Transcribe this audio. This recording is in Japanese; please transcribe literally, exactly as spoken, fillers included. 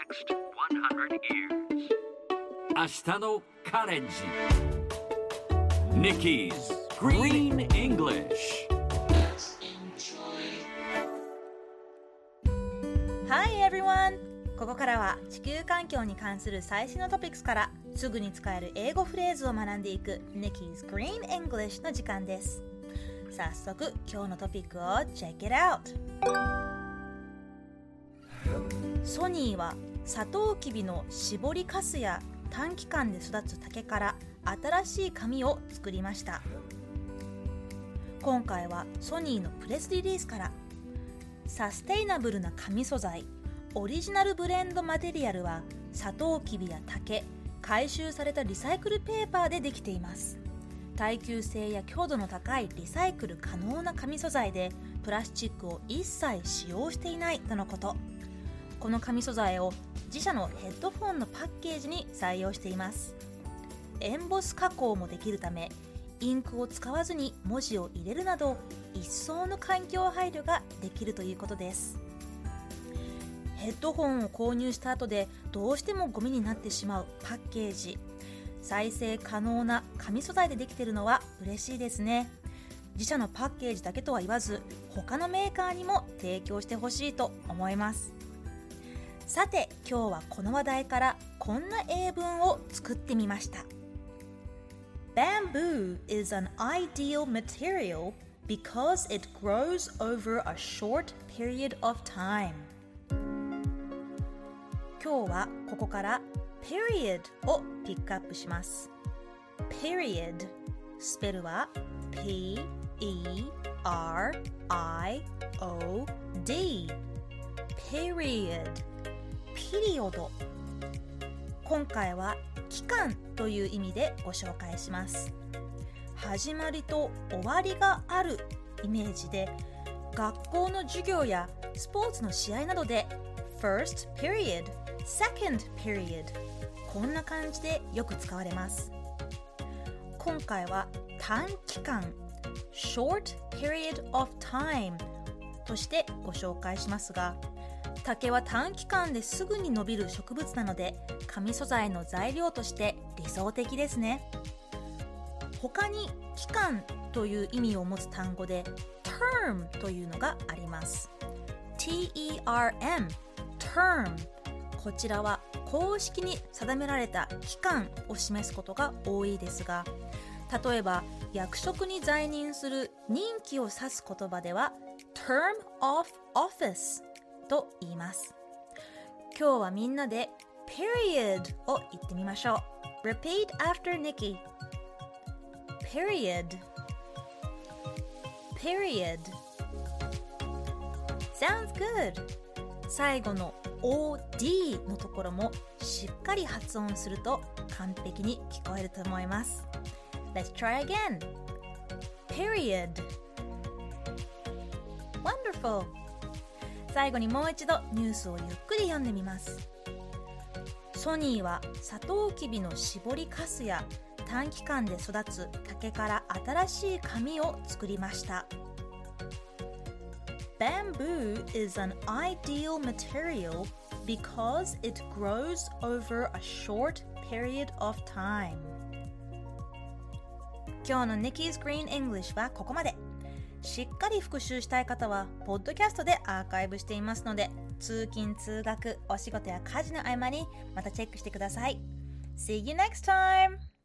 next one hundred years. 明日のカレンジ Nikki's Green English。 Hi everyone! ここからは地球環境に関する最新のトピックスからすぐに使える英語フレーズを学んでいく Nikki's Green English の時間です。早速今日のトピックを Check it out! ソニーはサトウキビの搾りかすや短期間で育つ竹から新しい紙を作りました。今回はソニーのプレスリリースからサステイナブルな紙素材オリジナルブレンドマテリアルはサトウキビや竹、回収されたリサイクルペーパーでできています。耐久性や強度の高いリサイクル可能な紙素材でプラスチックを一切使用していないとのこと。この紙素材を自社のヘッドフォンのパッケージに採用しています。エンボス加工もできるためインクを使わずに文字を入れるなど一層の環境配慮ができるということです。ヘッドホンを購入した後でどうしてもゴミになってしまうパッケージ、再生可能な紙素材でできているのは嬉しいですね。自社のパッケージだけとは言わず他のメーカーにも提供してほしいと思います。さて今日はこの話題からこんな英文を作ってみました。 Bamboo is an ideal material because it grows over a short period of time。 今日はここから period をピックアップします。 period スペルは P E R I O D periodピリオド。今回は期間という意味でご紹介します。始まりと終わりがあるイメージで学校の授業やスポーツの試合などで first period, second period こんな感じでよく使われます。今回は短期間 short period of time としてご紹介しますが、竹は短期間ですぐに伸びる植物なので紙素材の材料として理想的ですね。他に期間という意味を持つ単語で term というのがあります。 ティーイーアールエム term こちらは公式に定められた期間を示すことが多いですが、例えば役職に在任する任期を指す言葉では term of officeと言います。今日はみんなで period を言ってみましょう。 Repeat after Nikki. Period Period Sounds good. 最後の オーディー のところもしっかり発音すると完璧に聞こえると思います。 Let's try again. Period Wonderful.最後にもう一度ニュースをゆっくり読んでみます。ソニーはサトウキビの搾りかすや短期間で育つ竹から新しい紙を作りました。 Bamboo is an ideal material because it grows over a short period of time。 今日の Nikki's Green English はここまで。しっかり復習したい方はポッドキャストでアーカイブしていますので、通勤通学お仕事や家事の合間にまたチェックしてください。 See you next time!